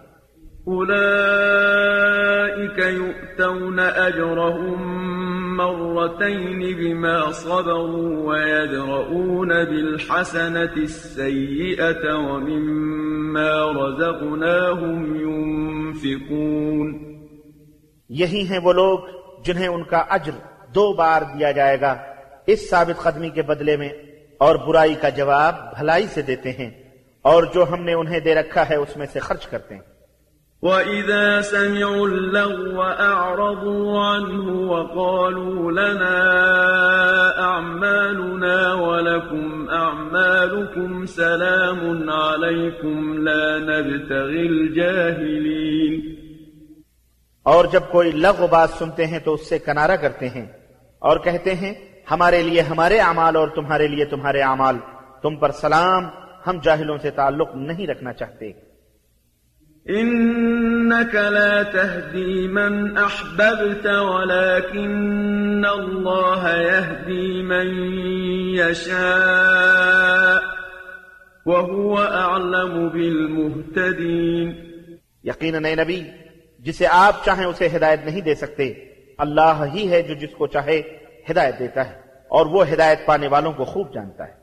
أولئك يؤتون أجرهم مرتين بما صبروا ويدرؤون بالحسنة السيئة ومما رزقناهم ينفقون۔ یہی ہیں وہ لوگ جنہیں ان کا اجر دو بار دیا جائے گا اس ثابت قدمی کے بدلے میں، اور برائی کا جواب بھلائی سے دیتے ہیں، اور جو ہم نے انہیں دے رکھا ہے اس میں سے خرچ کرتے ہیں۔ وَإِذَا سَمِعُوا اللَّغْوَ أَعْرَضُوا عَنْهُ وَقَالُوا لَنَا أَعْمَالُنَا وَلَكُمْ أَعْمَالُكُمْ سَلَامٌ عَلَيْكُمْ لَا نَبْتَغِي الْجَاهِلِينَ۔ اور جب کوئی لغو بات سنتے ہیں تو اس سے کنارہ کرتے ہیں اور کہتے ہیں ہمارے لیے ہمارے اعمال اور تمہارے لیے تمہارے اعمال، تم پر سلام، ہم جاہلوں سے تعلق نہیں رکھنا چاہتے۔ إنك لا تهدي من أحببت ولكن الله يهدي من يشاء وهو أعلم بالمهتدين۔ یقیناً اے نبی، جسے آپ چاہیں اسے ہدایت نہیں دے سکتے، اللہ ہی ہے جو جس کو چاہے ہدایت دیتا ہے، اور وہ ہدایت پانے والوں کو خوب جانتا ہے۔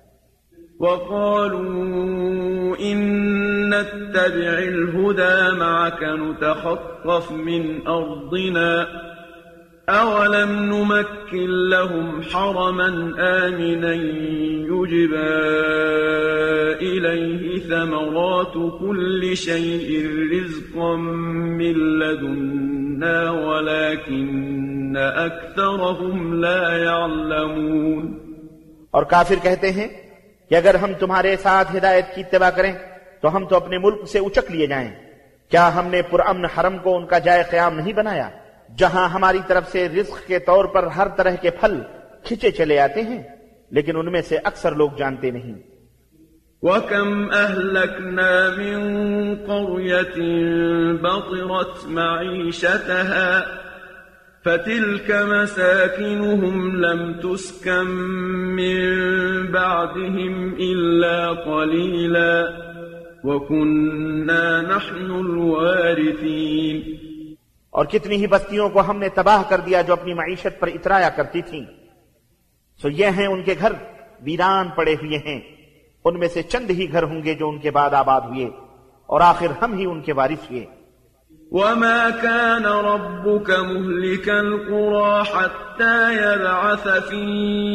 وَقَالُوا إِن نَّتَّبِعِ الْهُدَىٰ مَعَكَ نُتَخَطَّفْ مِنْ أَرْضِنَا أَوَلَمْ نُمَكِّن لَّهُمْ حَرَمًا آمِنًا يُجْبَىٰ إِلَيْهِ ثَمَرَاتُ كُلِّ شَيْءٍ رِّزْقًا مِّن لَّدُنَّا وَلَٰكِنَّ أَكْثَرَهُمْ لَا يَعْلَمُونَ۔ اور کافر کہتے ہیں کہ اگر ہم تمہارے ساتھ ہدایت کی اتباع کریں تو ہم تو اپنے ملک سے اچک لیے جائیں۔ کیا ہم نے پرامن حرم کو ان کا جائے قیام نہیں بنایا جہاں ہماری طرف سے رزق کے طور پر ہر طرح کے پھل کھچے چلے آتے ہیں؟ لیکن ان میں سے اکثر لوگ جانتے نہیں۔ وَكَمْ أَهْلَكْنَا مِن قَرْيَةٍ بَطِرَتْ مَعِيشَتَهَا فَتِلْكَ مَسَاكِنُهُمْ لَمْ تُسْكَن مِّن بَعْدِهِمْ إِلَّا قَلِيلًا وَكُنَّا نَحْنُ الْوَارِثِينَ۔ اور کتنی ہی بستیوں کو ہم نے تباہ کر دیا جو اپنی معیشت پر اترایا کرتی تھیں، سو یہ ہیں ان کے گھر ویران پڑے ہوئے ہیں، ان میں سے چند ہی گھر ہوں گے جو ان کے بعد آباد ہوئے، اور آخر ہم ہی ان کے وارث ہوئے۔ وَمَا كَانَ رَبُّكَ مُهْلِكَ الْقُرَىٰ حَتَّىٰ يَبْعَثَ فِي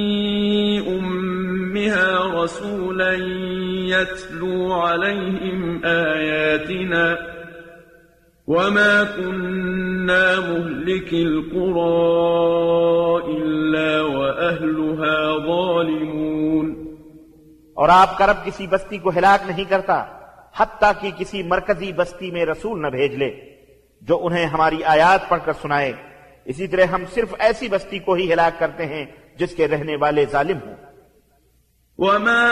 أُمِّهَا رَسُولًا يَتْلُو عَلَيْهِمْ آيَاتِنَا وَمَا كُنَّا مُهْلِكِ الْقُرَىٰ إِلَّا وَأَهْلُهَا ظَالِمُونَ۔ اور آپ کا رب کسی بستی کو ہلاک نہیں کرتا حتیٰ کہ کسی مرکزی بستی میں رسول نہ بھیج لے جو انہیں ہماری آیات پڑھ کر سنائے۔ اسی طرح ہم صرف ایسی بستی کو ہی ہلاک کرتے ہیں جس کے رہنے والے ظالم ہوں۔ وَمَا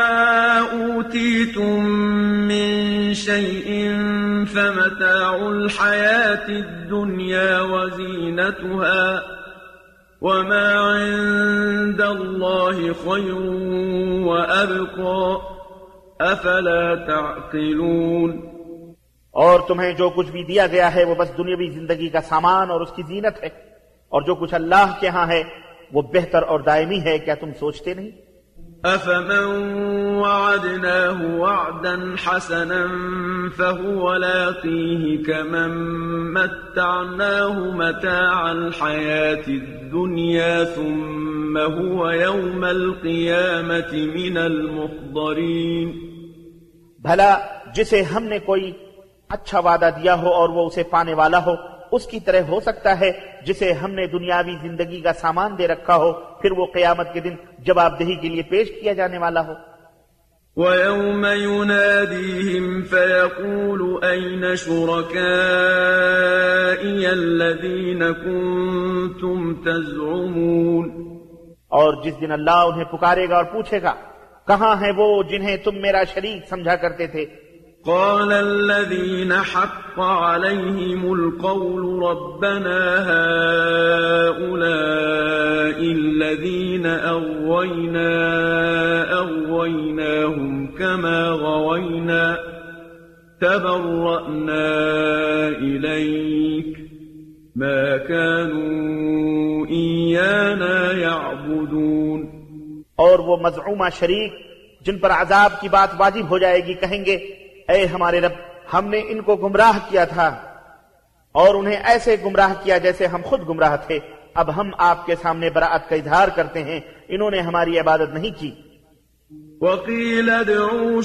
أُوتِيتُم مِّن شَيْءٍ فَمَتَاعُ الْحَيَاةِ الدُّنْيَا وَزِينَتُهَا وَمَا عِندَ اللَّهِ خَيْرٌ وَأَبْقَىٰ أَفَلَا تَعْقِلُونَ۔ اور تمہیں جو کچھ بھی دیا گیا ہے وہ بس دنیاوی زندگی کا سامان اور اس کی زینت ہے، اور جو کچھ اللہ کے ہاں ہے وہ بہتر اور دائمی ہے، کیا تم سوچتے نہیں؟ أَفَمَن وَعَدْنَاهُ وَعْدًا حَسَنًا فَهُوَ لَاقِيهِ كَمَن مَّتَّعْنَاهُ مَتَاعَ الْحَيَاةِ الدُّنْيَا ثُمَّ هُوَ يَوْمَ الْقِيَامَةِ مِنَ الْمُحْضَرِينَ۔ بھلا جسے ہم نے کوئی اچھا وعدہ دیا ہو اور وہ اسے پانے والا ہو، اس کی طرح ہو سکتا ہے جسے ہم نے دنیاوی زندگی کا سامان دے رکھا ہو پھر وہ قیامت کے دن جواب دہی کے لیے پیش کیا جانے والا ہو۔ وَيَوْمَ يُنَادِيهِمْ فَيَقُولُ أَيْنَ شُرَكَائِيَ الَّذِينَ كُنتُمْ تَزْعُمُونَ۔ اور جس دن اللہ انہیں پکارے گا اور پوچھے گا کہاں ہیں وہ جنہیں تم میرا شریک سمجھا کرتے تھے؟ قال الذين حق عليهم القول ربنا هؤلاء الذين أغوينا أغوينا غويناهم كما غوينا تبرأنا إليك ما كانوا إيانا يعبدون. اور وہ مزعومہ شریک جن پر عذاب کی بات واجب ہو جائے گی کہیں گے اے ہمارے رب ہم نے ان کو گمراہ کیا تھا اور انہیں ایسے گمراہ کیا جیسے ہم خود گمراہ تھے، اب ہم آپ کے سامنے براءت کا اظہار کرتے ہیں انہوں نے ہماری عبادت نہیں کی. وَقِيلَ ادْعُوا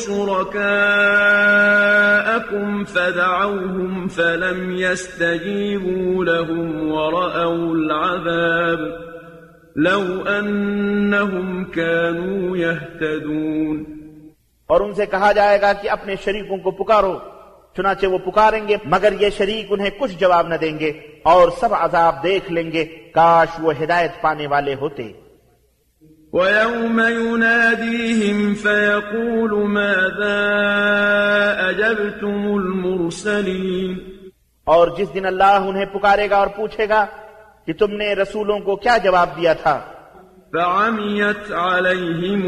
شُرَكَاءَكُمْ فَدَعَوْهُمْ فَلَمْ يَسْتَجِيبُوا لَهُمْ وَرَأَوُا الْعَذَابَ لَوْ أَنَّهُمْ كَانُوا يَهْتَدُونَ. اور ان سے کہا جائے گا کہ اپنے شریکوں کو پکارو، چنانچہ وہ پکاریں گے مگر یہ شریک انہیں کچھ جواب نہ دیں گے اور سب عذاب دیکھ لیں گے، کاش وہ ہدایت پانے والے ہوتے. وَيَوْمَ يُنَادِيهِمْ فَيَقُولُ مَاذَا أَجَبْتُمُ الْمُرْسَلِينَ. اور جس دن اللہ انہیں پکارے گا اور پوچھے گا کہ تم نے رسولوں کو کیا جواب دیا تھا. فَعَمِيَتْ عَلَيْهِمُ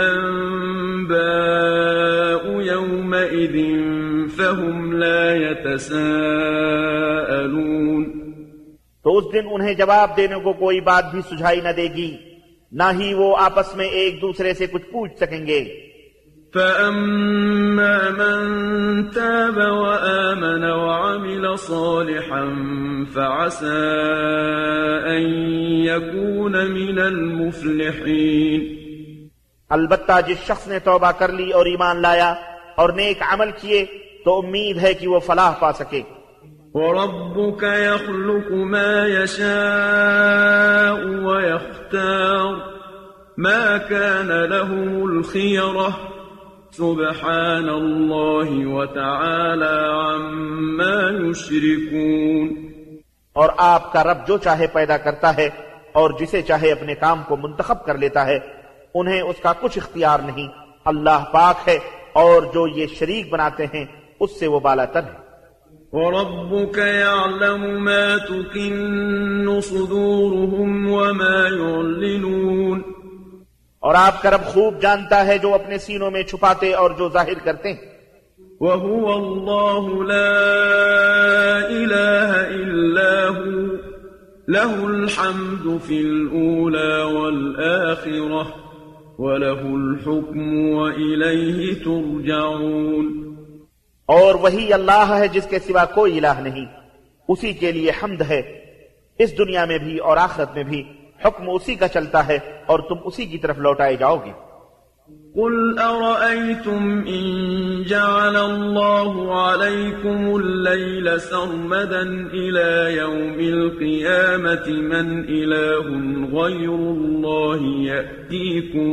الْأَنبَاءُ يَوْمَئِذٍ فَهُمْ لَا يَتَسَاءَلُونَ. تو اس دن انہیں جواب دینے کو کوئی بات بھی سجھائی نہ دے گی، نہ ہی وہ آپس میں ایک دوسرے سے کچھ پوچھ سکیں گے. فَأَمَّا مَن تَابَ وَآمَنَ وَعَمِلَ صَالِحًا فَعَسَىٰ أَن يَكُونَ مِنَ الْمُفْلِحِينَ. البتہ جس شخص نے توبہ کر لی اور ایمان لایا اور نیک عمل کیے تو امید ہے کہ وہ فلاح پا سکے. وَرَبُّكَ يَخْلُقُ مَا يَشَاءُ وَيَخْتَارُ مَا كَانَ لَهُمُ الْخِيَرَةُ سُبْحَانَ اللَّهِ وَتَعَالَى عَمَّا يُشْرِكُونَ. اور آپ کا رب جو چاہے پیدا کرتا ہے اور جسے چاہے اپنے کام کو منتخب کر لیتا ہے، انہیں اس کا کچھ اختیار نہیں. اللہ پاک ہے اور جو یہ شریک بناتے ہیں اس سے وہ بالا تر ہے. وَرَبُّكَ يَعْلَمُ مَا تُكِنُّ صُدُورُهُمْ وَمَا يُعْلِنُونَ. اور آپ کا رب خوب جانتا ہے جو اپنے سینوں میں چھپاتے اور جو ظاہر کرتے ہیں. وَهُوَ اللَّهُ لَا إِلَٰهَ إِلَّا هُوَ لَهُ الْحَمْدُ فِي الْأُولَى وَالْآخِرَةِ وَلَهُ الْحُكْمُ وَإِلَيْهِ تُرْجَعُونَ. اور وہی اللہ ہے جس کے سوا کوئی الہ نہیں، اسی کے لیے حمد ہے اس دنیا میں بھی اور آخرت میں بھی، حکم اسی کا چلتا ہے اور تم اسی کی طرف لوٹائے جاؤ گے. قُلْ أَرَأَيْتُمْ إِن جَعَلَ اللَّهُ عَلَيْكُمُ اللَّيْلَ سَرْمَدًا إِلَى يَوْمِ الْقِيَامَةِ مَنْ إِلَٰهٌ غَيْرُ اللَّهِ يَأْتِيكُم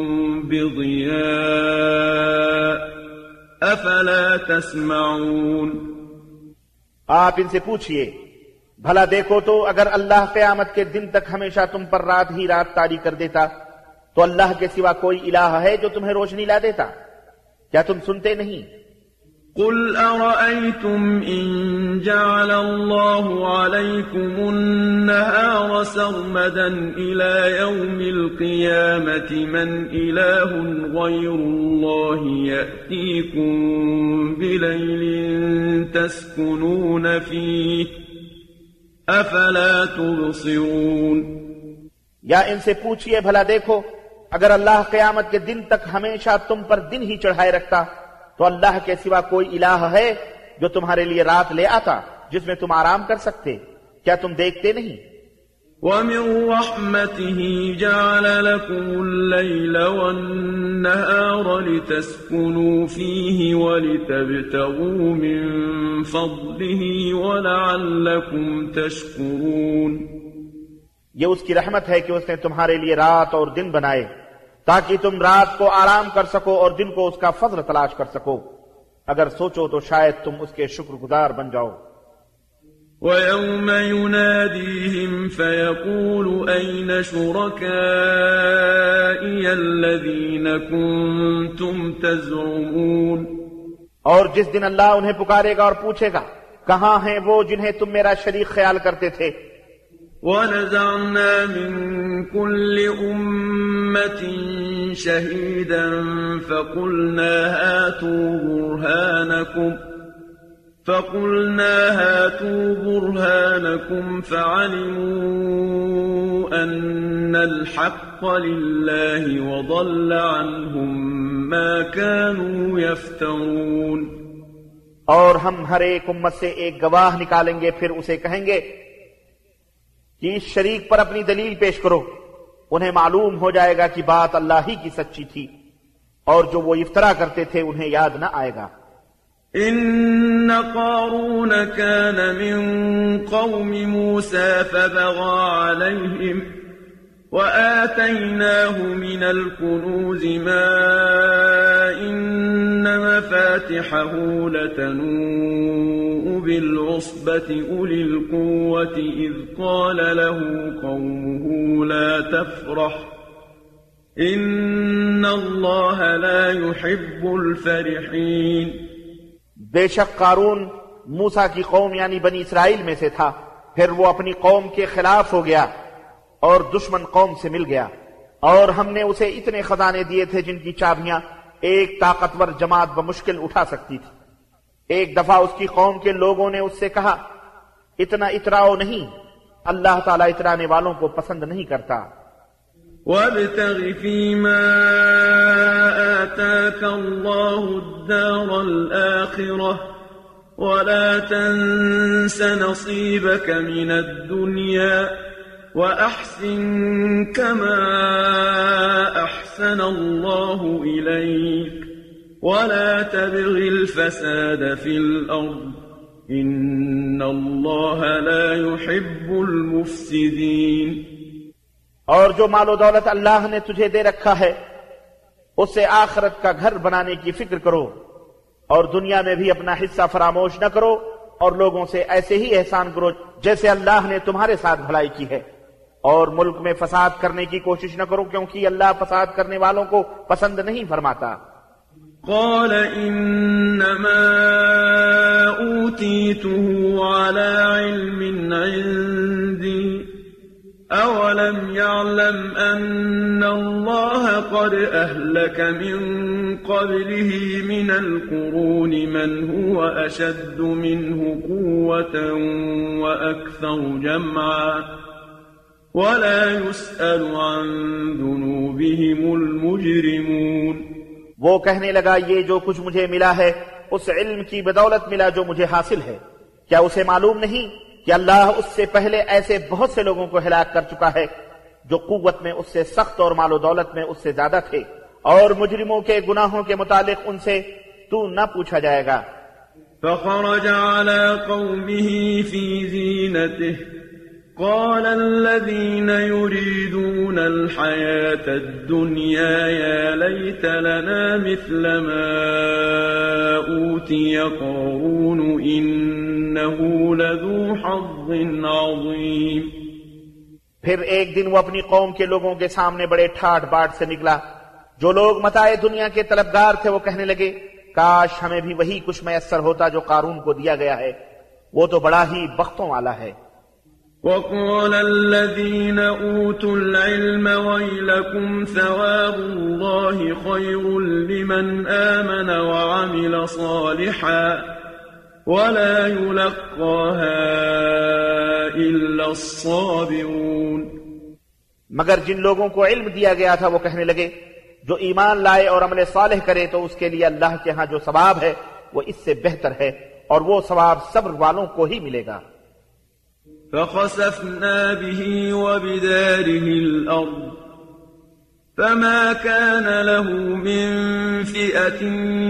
بِضِيَاءٍ افلا تسمعون. آپ ان سے پوچھئے بھلا دیکھو تو اگر اللہ قیامت کے دن تک ہمیشہ تم پر رات ہی رات طاری کر دیتا تو اللہ کے سوا کوئی الہ ہے جو تمہیں روشنی لا دیتا؟ کیا تم سنتے نہیں؟ قل أرأيتم إن جعل الله عليكم النهار سرمدا إلى يوم القيامة من إله غير الله يأتيكم بليل تسكنون فيه أفلا تبصرون. یا ان سے پوچھئے بھلا دیکھو اگر اللہ قیامت کے دن تک ہمیشہ تم پر دن ہی چڑھائے رکھتا تو اللہ کے سوا کوئی الہ ہے جو تمہارے لیے رات لے آتا جس میں تم آرام کر سکتے؟ کیا تم دیکھتے نہیں؟ وَمِن رَحْمَتِهِ جَعَلَ لَكُمُ اللَّيْلَ وَالنَّهَارَ لِتَسْكُنُوا فِيهِ وَلِتَبْتَغُوا مِن فَضْلِهِ وَلَعَلَّكُمْ تَشْكُرُونَ. یہ اس کی رحمت ہے کہ اس نے تمہارے لیے رات اور دن بنائے تاکہ تم رات کو آرام کر سکو اور دن کو اس کا فضل تلاش کر سکو. اگر سوچو تو شاید تم اس کے شکر گزار بن جاؤ. وَيَوْمَ يُنَادِيهِمْ فَيَقُولُ أَيْنَ شُرَكَائِيَ الَّذِينَ كُنتُمْ تَزْعُمُونَ. اور جس دن اللہ انہیں پکارے گا اور پوچھے گا کہاں ہیں وہ جنہیں تم میرا شریک خیال کرتے تھے؟ ونزعنا من كل أمة شهيدا فقلنا هاتوا برهانكم فقلنا هاتوا برهانكم فعلموا أن الحق لله وضل عنهم ما كانوا يفترون. اور ہم ہر ایک امت سے ایک گواہ نکالیں گے، پھر اسے کہیں گے کہ اس شریک پر اپنی دلیل پیش کرو. انہیں معلوم ہو جائے گا کہ بات اللہ ہی کی سچی تھی، اور جو وہ افطرا کرتے تھے انہیں یاد نہ آئے گا. إن قارون كان من قوم موسى فبغى عليهم وآتيناه من الكنوز ما إن مفاتحه لتنوء بالعصبة أولي القوة إذ قال له قومه لا تفرح إن الله لا يحب الفرحين. بے شک قارون موسیٰ کی قوم یعنی بنی اسرائیل میں سے تھا، پھر وہ اپنی قوم کے خلاف ہو گیا اور دشمن قوم سے مل گیا، اور ہم نے اسے اتنے خزانے دیے تھے جن کی چابیاں ایک طاقتور جماعت بمشکل اٹھا سکتی تھی. ایک دفعہ اس کی قوم کے لوگوں نے اس سے کہا اتنا اتراؤ نہیں، اللہ تعالیٰ اترانے والوں کو پسند نہیں کرتا. وابتغ فيما آتاك الله الدار الآخرة ولا تنس نصيبك من الدنيا وأحسن كما أحسن الله إليك ولا تبغ الفساد في الأرض إن الله لا يحب المفسدين. اور جو مال و دولت اللہ نے تجھے دے رکھا ہے اس سے آخرت کا گھر بنانے کی فکر کرو، اور دنیا میں بھی اپنا حصہ فراموش نہ کرو، اور لوگوں سے ایسے ہی احسان کرو جیسے اللہ نے تمہارے ساتھ بھلائی کی ہے، اور ملک میں فساد کرنے کی کوشش نہ کرو کیونکہ اللہ فساد کرنے والوں کو پسند نہیں فرماتا. قال انما اوتیته على علم عندي أولم يعلم أن الله قد أهلك من قبله من القرون من هو أشد منه قوة وأكثر جمعا ولا يسأل عن ذنوبهم المجرمون. وہ کہنے لگا یہ جو کچھ مجھے ملا ہے اس علم کی بدولت ملا جو مجھے حاصل ہے. کیا اسے معلوم نہیں کہ اللہ اس سے پہلے ایسے بہت سے لوگوں کو ہلاک کر چکا ہے جو قوت میں اس سے سخت اور مال و دولت میں اس سے زیادہ تھے، اور مجرموں کے گناہوں کے متعلق ان سے تو نہ پوچھا جائے گا. فخرج على قومه في زينته قال الذين يريدون الحياة الدنيا يا ليت لنا مثل ما أوتي قارون إنه لذو حظ عظيم. پھر ایک دن وہ اپنی قوم کے لوگوں کے سامنے بڑے ٹھاٹ باٹ سے نکلا. جو لوگ متاع دنیا کے طلبگار تھے وہ کہنے لگے کاش ہمیں بھی وہی کچھ میسر ہوتا جو قارون کو دیا گیا ہے، وہ تو بڑا ہی بختوں والا ہے. وقال الذين أوتوا العلم ويلكم ثواب الله خير لمن آمن وعمل صالحا ولا يلقاها إلا الصابرون. مگر جن لوگوں کو علم دیا گیا تھا وہ کہنے لگے جو ایمان لائے اور عمل صالح کرے تو اس کے لیے اللہ کے ہاں جو ثواب ہے وہ اس سے بہتر ہے، اور وہ ثواب صبر والوں کو ہی ملے گا. فخسفنا به وبداره الأرض فما كان له من فئة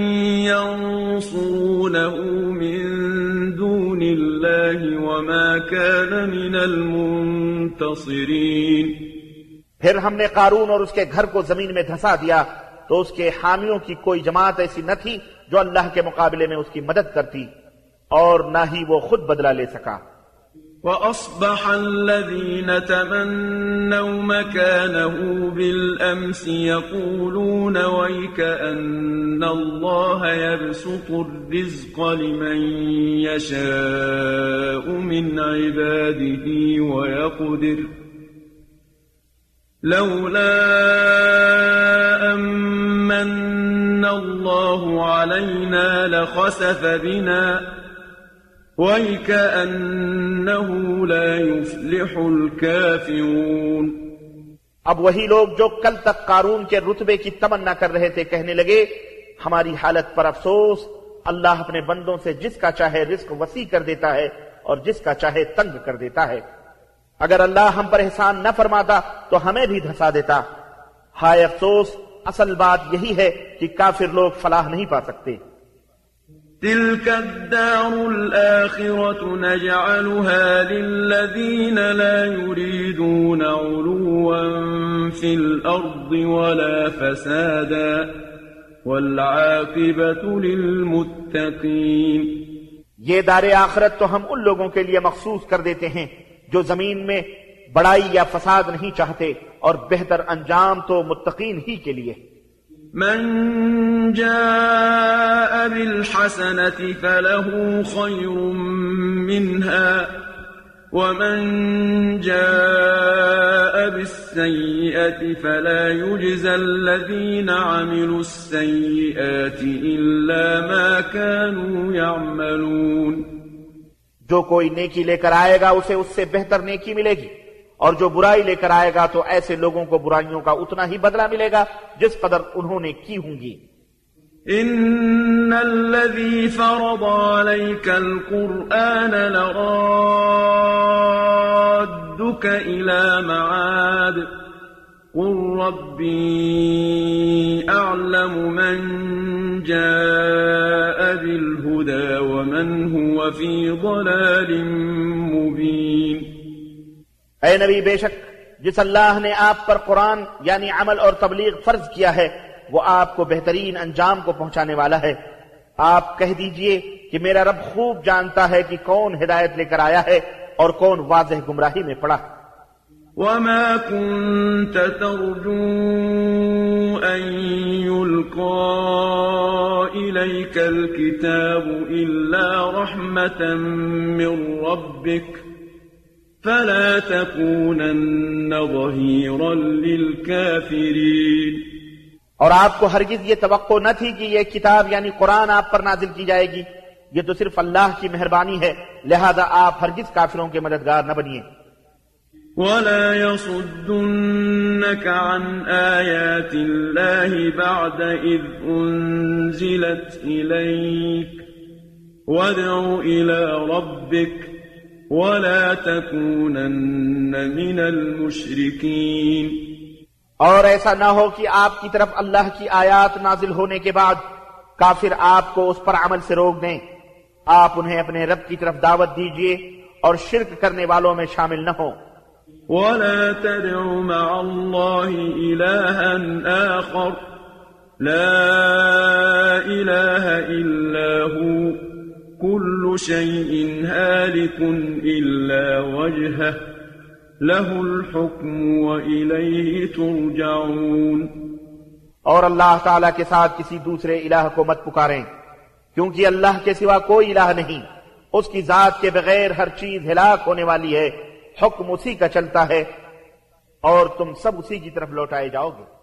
ينصرونه من دون الله وما كان من المنتصرين. پھر ہم نے قارون اور اس کے گھر کو زمین میں دھسا دیا تو اس کے حامیوں کی کوئی جماعت ایسی نہ تھی جو اللہ کے مقابلے میں اس کی مدد کرتی، اور نہ ہی وہ خود بدلہ لے سکا. وأصبح الذين تمنوا مكانه بالأمس يقولون ويك أن الله يبسط الرزق لمن يشاء من عباده ويقدر لولا أمن الله علينا لخسف بنا وَيْكَأَنَّهُ لَا يُفْلِحُ الْكَافِرُونَ۔ اب وہی لوگ جو کل تک قارون کے رتبے کی تمنا کر رہے تھے کہنے لگے ہماری حالت پر افسوس، اللہ اپنے بندوں سے جس کا چاہے رزق وسیع کر دیتا ہے اور جس کا چاہے تنگ کر دیتا ہے۔ اگر اللہ ہم پر احسان نہ فرماتا تو ہمیں بھی دھسا دیتا۔ ہائے افسوس، اصل بات یہی ہے کہ کافر لوگ فلاح نہیں پا سکتے۔ تلك الدار الآخرة نجعلها للذين لا يريدون علوا في الأرض ولا فسادا والعاقبة للمتقين۔ یہ دار آخرت تو ہم ان لوگوں کے لیے مخصوص کر دیتے ہیں جو زمین میں بڑائی یا فساد نہیں چاہتے، اور بہتر انجام تو متقین ہی کے لیے۔ من جاء بالحسنة فله خير منها ومن جاء بالسيئة فلا يجزى الذين عملوا السيئات إلا ما كانوا يعملون۔ جو کوئی نیکی لے کر آئے گا اسے اس سے بہتر نیکی ملے گی، اور جو برائی لے کر آئے گا تو ایسے لوگوں کو برائیوں کا اتنا ہی بدلہ ملے گا جس قدر انہوں نے کی ہوں گی۔ ان الذي فرض عليك القرآن لرادك الى معاد قل ربي اعلم من جاء بالهدى ومن هو في ضلال مبين۔ اے نبی، بے شک جس اللہ نے آپ پر قرآن یعنی عمل اور تبلیغ فرض کیا ہے وہ آپ کو بہترین انجام کو پہنچانے والا ہے۔ آپ کہہ دیجئے کہ میرا رب خوب جانتا ہے کہ کون ہدایت لے کر آیا ہے اور کون واضح گمراہی میں پڑا۔ وما كنت ترجو أن يلقى إليك الكتاب إلا رحمة من ربك فلا تكونن ظهيرا للكافرين۔ اور آپ کو ہرگز یہ توقع نہ تھی کہ یہ کتاب یعنی قرآن آپ پر نازل کی جائے گی، یہ تو صرف اللہ کی مہربانی ہے، لہذا آپ ہرگز کافروں کے مددگار نہ بنیے۔ ولا يصدنك عن آيات الله بعد إذ أنزلت إليك وادع إلى ربك ولا تكونن من المشركين۔ اور ایسا نہ ہو کہ آپ کی طرف اللہ کی آیات نازل ہونے کے بعد کافر آپ کو اس پر عمل سے روک دیں۔ آپ انہیں اپنے رب کی طرف دعوت دیجئے اور شرک کرنے والوں میں شامل نہ ہوں۔ ولا تدع مع الله إلها آخر لا إله إلا هو كل شيء هالك إلا وجهه له الحكم وإليه ترجعون۔ اور اللہ تعالیٰ کے ساتھ کسی دوسرے الہ کو مت پکاریں، کیونکہ اللہ کے سوا کوئی الہ نہیں، اس کی ذات کے بغیر ہر چیز ہلاک ہونے والی ہے، حکم اسی کا چلتا ہے اور تم سب اسی کی طرف لوٹائے جاؤ گے۔